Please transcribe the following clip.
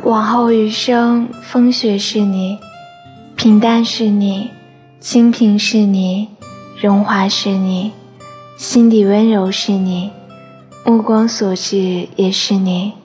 往后余生，风雪是你，平淡是你，清贫是你，荣华是你，心底温柔是你，目光所至也是你。